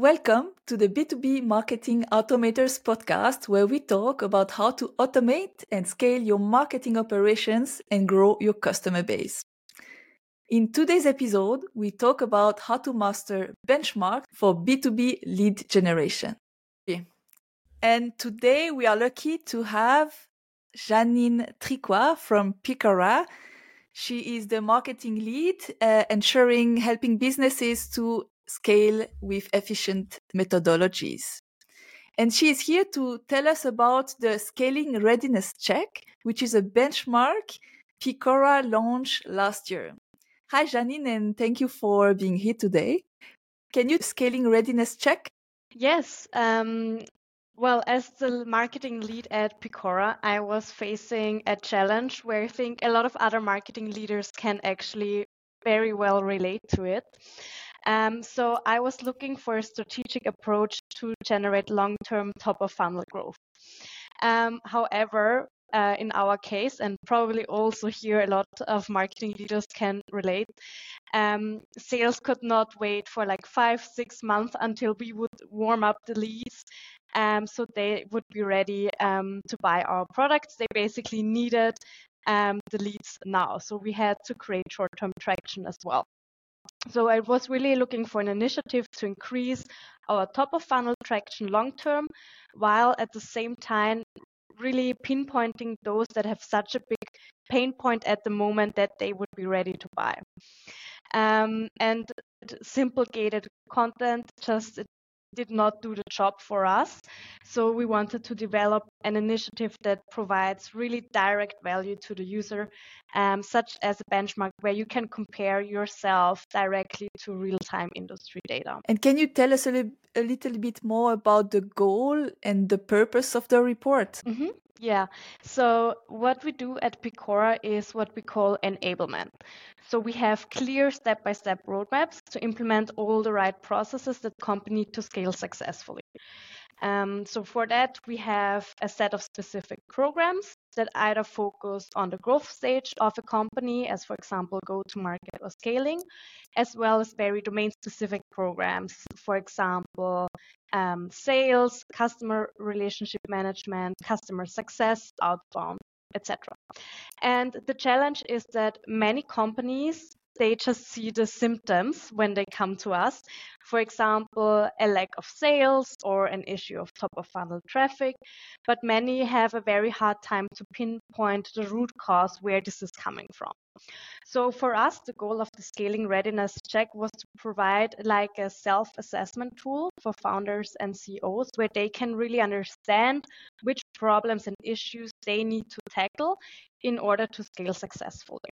welcome to the B2B Marketing Automators podcast, where we talk about how to automate and scale your marketing operations and grow your customer base. In today's episode, we talk about how to master benchmark for B2B lead generation. And today we are lucky to have Janine Tricoire from Picora. She is the marketing lead, helping businesses to scale with efficient methodologies. And she is here to tell us about the Scaling Readiness Check, which is a benchmark Picora launched last year. Hi, Janine, and thank you for being here today. Can you Scaling Readiness Check? Yes. Well, as the marketing lead at Picora, I was facing a challenge where I think a lot of other marketing leaders can actually very well relate to it. So I was looking for a strategic approach to generate long-term top-of-funnel growth. However, in our case, and probably also here a lot of marketing leaders can relate, sales could not wait for like 5-6 months until we would warm up the leads. So they would be ready to buy our products. They basically needed the leads now. So we had to create short-term traction as well. So I was really looking for an initiative to increase our top-of-funnel traction long-term, while at the same time really pinpointing those that have such a big pain point at the moment that they would be ready to buy. And simple gated content just did not do the job for us. So we wanted to develop an initiative that provides really direct value to the user, such as a benchmark where you can compare yourself directly to real-time industry data. And can you tell us a little bit more about the goal and the purpose of the report? Mm-hmm. Yeah. So what we do at Picora is what we call enablement. So we have clear step-by-step roadmaps to implement all the right processes that company need to scale successfully. So for that, we have a set of specific programs that either focus on the growth stage of a company, as for example, go-to-market or scaling, as well as very domain-specific programs, for example, sales, customer relationship management, customer success, outbound, etc. And the challenge is that many companies, they just see the symptoms when they come to us. For example, a lack of sales or an issue of top of funnel traffic, but many have a very hard time to pinpoint the root cause where this is coming from. So for us, the goal of the Scaling Readiness Check was to provide like a self-assessment tool for founders and CEOs where they can really understand which problems and issues they need to tackle in order to scale successfully.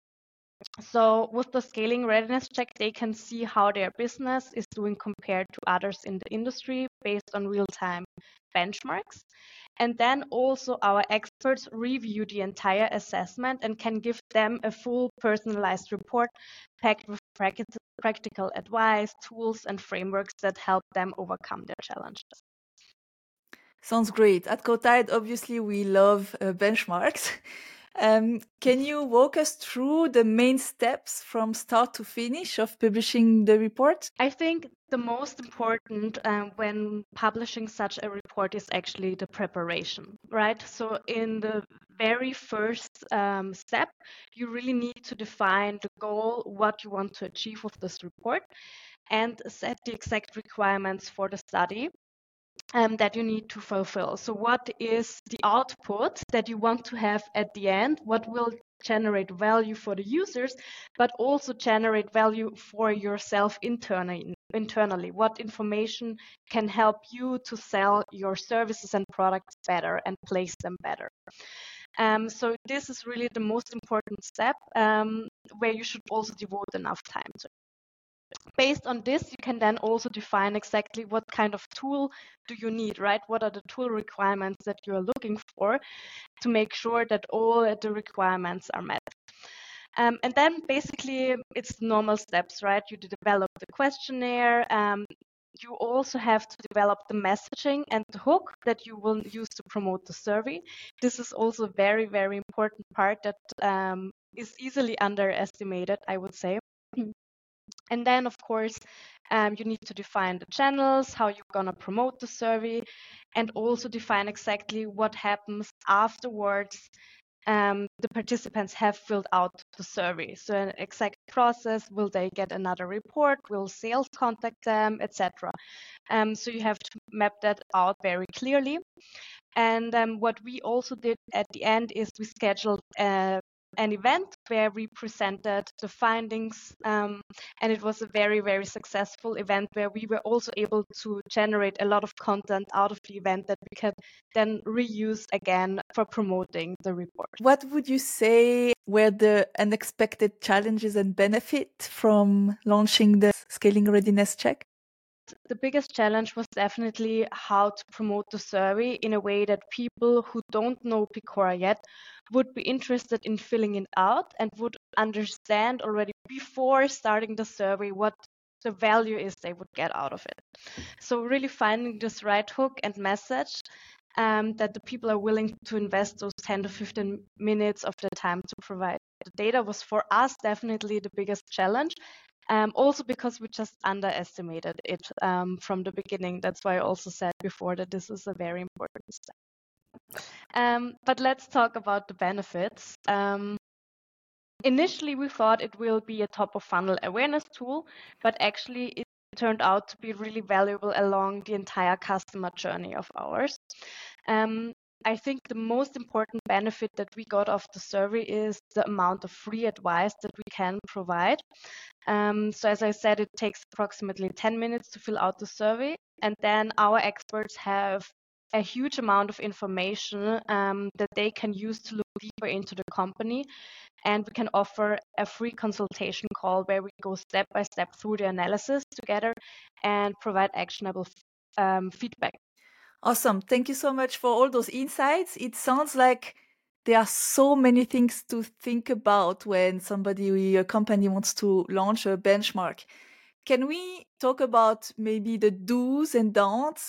So with the Scaling Readiness Check, they can see how their business is doing compared to others in the industry based on real-time benchmarks. And then also our experts review the entire assessment and can give them a full personalized report packed with practical advice, tools, and frameworks that help them overcome their challenges. Sounds great. At Cotide, obviously, we love benchmarks. Can you walk us through the main steps from start to finish of publishing the report? I think the most important when publishing such a report is actually the preparation, right? So in the very first step, you really need to define the goal, what you want to achieve with this report, and set the exact requirements for the study that you need to fulfill. So what is the output that you want to have at the end? What will generate value for the users, but also generate value for yourself internally? What information can help you to sell your services and products better and place them better? So this is really the most important step where you should also devote enough time to. Based on this, you can then also define exactly what kind of tool do you need, right? What are the tool requirements that you're looking for to make sure that all the requirements are met. And then basically it's normal steps, right? You develop the questionnaire. You also have to develop the messaging and the hook that you will use to promote the survey. This is also a very, very important part that is easily underestimated, I would say. And then, of course, you need to define the channels, how you're going to promote the survey, and also define exactly what happens afterwards the participants have filled out the survey. So an exact process, will they get another report, will sales contact them, etc. So you have to map that out very clearly. And what we also did at the end is we scheduled an event where we presented the findings, and it was a very, very successful event where we were also able to generate a lot of content out of the event that we could then reuse again for promoting the report. What would you say were the unexpected challenges and benefit from launching the Scaling Readiness Check? The biggest challenge was definitely how to promote the survey in a way that people who don't know Picora yet would be interested in filling it out and would understand already before starting the survey what the value is they would get out of it. So really finding this right hook and message that the people are willing to invest those 10 to 15 minutes of their time to provide the data was for us definitely the biggest challenge. Also because we just underestimated it from the beginning. That's why I also said before that this is a very important step. But let's talk about the benefits. Initially, we thought it will be a top of funnel awareness tool, but actually it turned out to be really valuable along the entire customer journey of ours. I think the most important benefit that we got off the survey is the amount of free advice that we can provide. So as I said, it takes approximately 10 minutes to fill out the survey, and then our experts have a huge amount of information that they can use to look deeper into the company. And we can offer a free consultation call where we go step by step through the analysis together and provide actionable feedback. Awesome. Thank you so much for all those insights. It sounds like there are so many things to think about when a company wants to launch a benchmark. Can we talk about maybe the do's and don'ts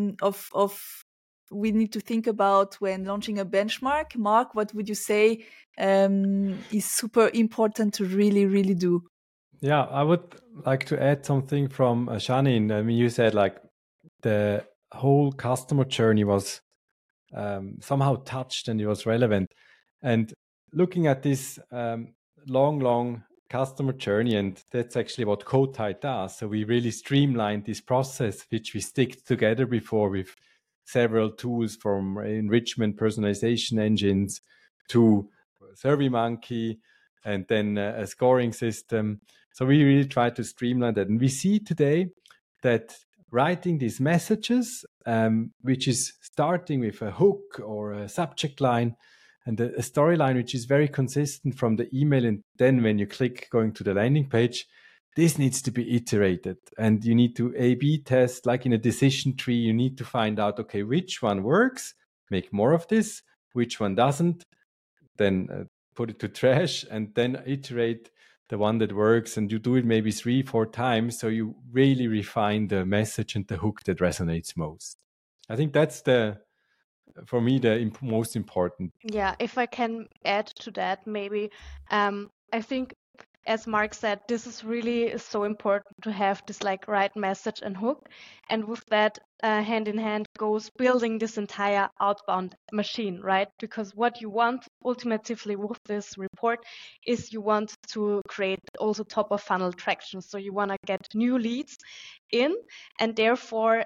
of we need to think about when launching a benchmark? Mark, what would you say is super important to really, really do? Yeah, I would like to add something from Janine. I mean, you said like the whole customer journey was somehow touched and it was relevant. And looking at this long customer journey, and that's actually what Cotai does. So we really streamlined this process, which we stick together before with several tools from enrichment personalization engines to SurveyMonkey and then a scoring system. So we really try to streamline that. And we see today that writing these messages, which is starting with a hook or a subject line and a storyline, which is very consistent from the email. And then when you click going to the landing page, this needs to be iterated. And you need to A/B test, like in a decision tree. You need to find out, okay, which one works, make more of this, which one doesn't, then put it to trash, and then iterate the one that works, and you do it maybe 3-4 times, so you really refine the message and the hook that resonates most. I think that's for me the most important. Yeah, if I can add to that, maybe I think, as Mark said, this is really so important to have this like right message and hook, and with that hand in hand goes building this entire outbound machine, right? Because what you want ultimately with this report is you want to create also top of funnel traction. So you want to get new leads in, and therefore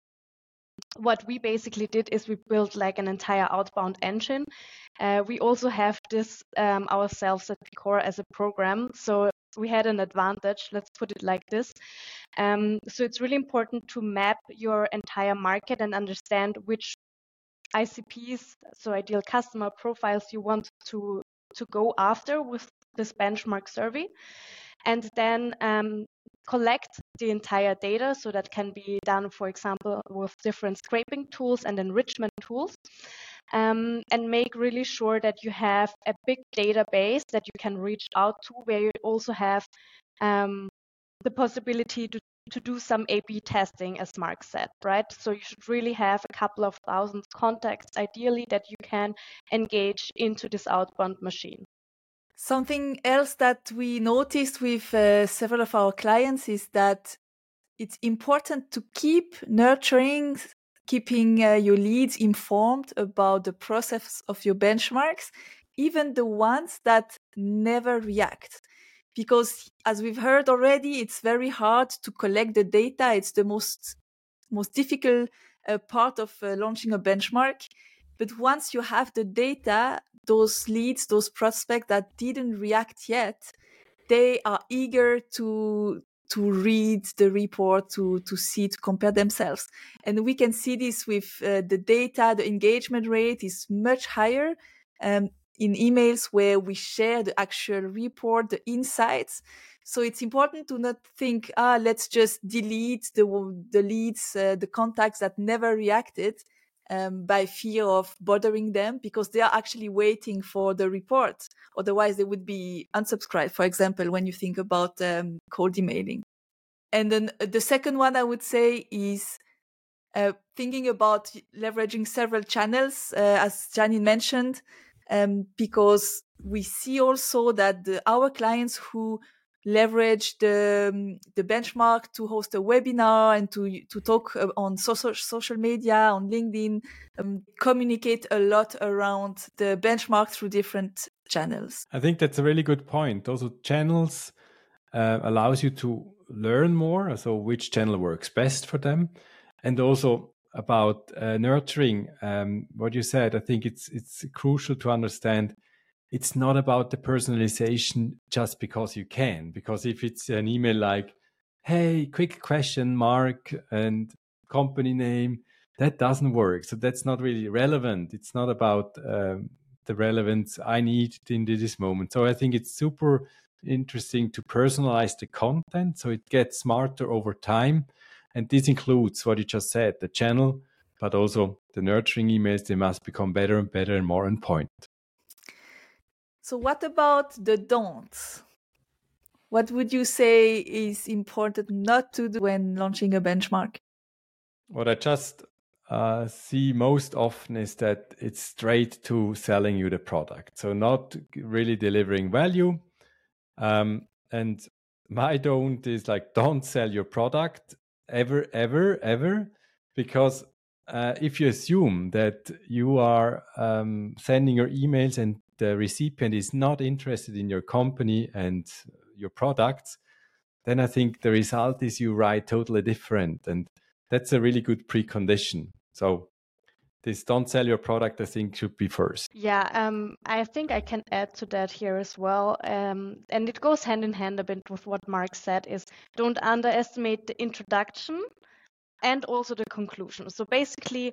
what we basically did is we built like an entire outbound engine. We also have this ourselves at Picora as a program. So we had an advantage, let's put it like this. So it's really important to map your entire market and understand which ICPs, so ideal customer profiles, you want to go after with this benchmark survey. And then collect the entire data. So that can be done, for example, with different scraping tools and enrichment tools, and make really sure that you have a big database that you can reach out to, where you also have the possibility to do some A/B testing, as Mark said, right? So you should really have a couple of thousand contacts, ideally, that you can engage into this outbound machine. Something else that we noticed with several of our clients is that it's important to keep nurturing, keeping your leads informed about the process of your benchmarks, even the ones that never react. Because as we've heard already, it's very hard to collect the data. It's the most difficult part of launching a benchmark. But once you have the data, those leads, those prospects that didn't react yet, they are eager to read the report, to see, to compare themselves. And we can see this with the data. The engagement rate is much higher in emails where we share the actual report, the insights. So it's important to not think, let's just delete the leads, the contacts that never reacted, by fear of bothering them, because they are actually waiting for the report. Otherwise, they would be unsubscribed, for example, when you think about cold emailing. And then the second one I would say is thinking about leveraging several channels, as Janine mentioned, because we see also that our clients who leverage the benchmark to host a webinar and to talk on social media, on LinkedIn, communicate a lot around the benchmark through different channels. I think that's a really good point. Also, channels allows you to learn more, so which channel works best for them. And also about nurturing, what you said, I think it's crucial to understand it's not about the personalization just because you can. Because if it's an email like, hey, quick question, Mark, and company name, that doesn't work. So that's not really relevant. It's not about the relevance I need in this moment. So I think it's super interesting to personalize the content so it gets smarter over time. And this includes what you just said, the channel, but also the nurturing emails. They must become better and better and more on point. So what about the don'ts? What would you say is important not to do when launching a benchmark? What I just see most often is that it's straight to selling you the product. So not really delivering value. And my don't is like, don't sell your product ever, ever, ever. Because if you assume that you are sending your emails and the recipient is not interested in your company and your products, then I think the result is you write totally different. And that's a really good precondition. So this don't sell your product, I think, should be first. Yeah, I think I can add to that here as well. And it goes hand in hand a bit with what Mark said, is don't underestimate the introduction and also the conclusion. So basically,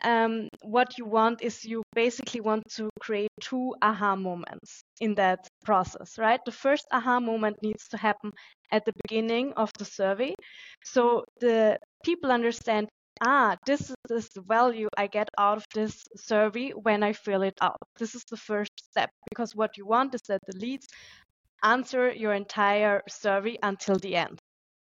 what you want is you basically want to create 2 aha moments in that process, right? The first aha moment needs to happen at the beginning of the survey. So the people understand, this is the value I get out of this survey when I fill it out. This is the first step, because what you want is that the leads answer your entire survey until the end.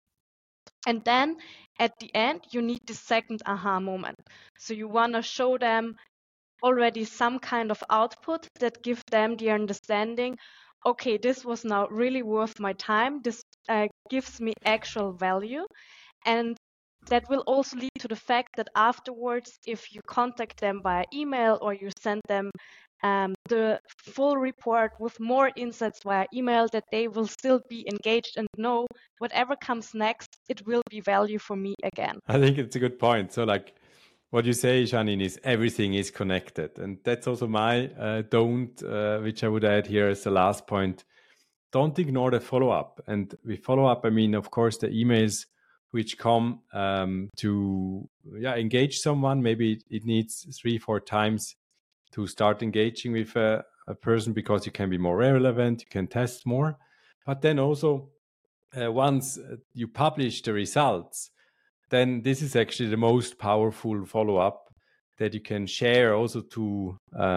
And then at the end, you need the second aha moment. So you want to show them already some kind of output that gives them the understanding, okay, this was now really worth my time. This gives me actual value. And that will also lead to the fact that afterwards, if you contact them via email or you send them the full report with more insights via email, that they will still be engaged and know whatever comes next, it will be value for me again. I think it's a good point. So like what you say, Janine, is everything is connected. And that's also my don't, which I would add here as the last point. Don't ignore the follow-up. And with follow-up, I mean, of course, the emails which come to engage someone. Maybe it needs 3-4 times to start engaging with a person because you can be more relevant, you can test more. But then also, once you publish the results, then this is actually the most powerful follow-up that you can share also to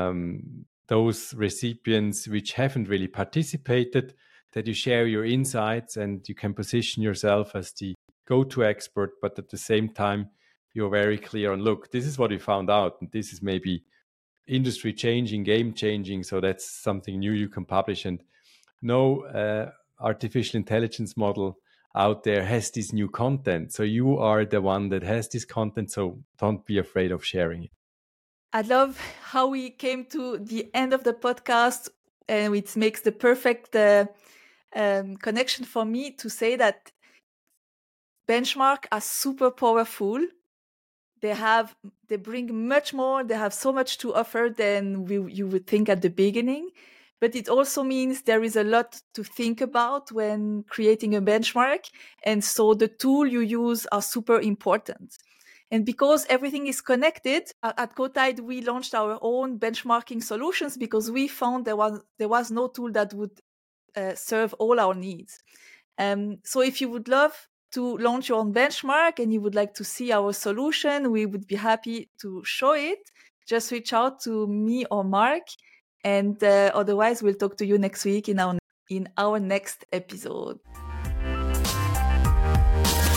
those recipients which haven't really participated, that you share your insights and you can position yourself as the go-to expert, but at the same time, you're very clear on, look, this is what we found out, and this is maybe industry changing, game changing, so that's something new you can publish. And no artificial intelligence model out there has this new content. So you are the one that has this content, so don't be afraid of sharing it. I love how we came to the end of the podcast, and it makes the perfect connection for me to say that benchmark are super powerful. They bring much more. They have so much to offer than you would think at the beginning. But it also means there is a lot to think about when creating a benchmark. And so the tool you use are super important. And because everything is connected, at Cotide, we launched our own benchmarking solutions because we found there was no tool that would serve all our needs. So if you would love to launch your own benchmark and you would like to see our solution, we would be happy to show it. Just reach out to me or Mark. And otherwise, we'll talk to you next week in our next episode.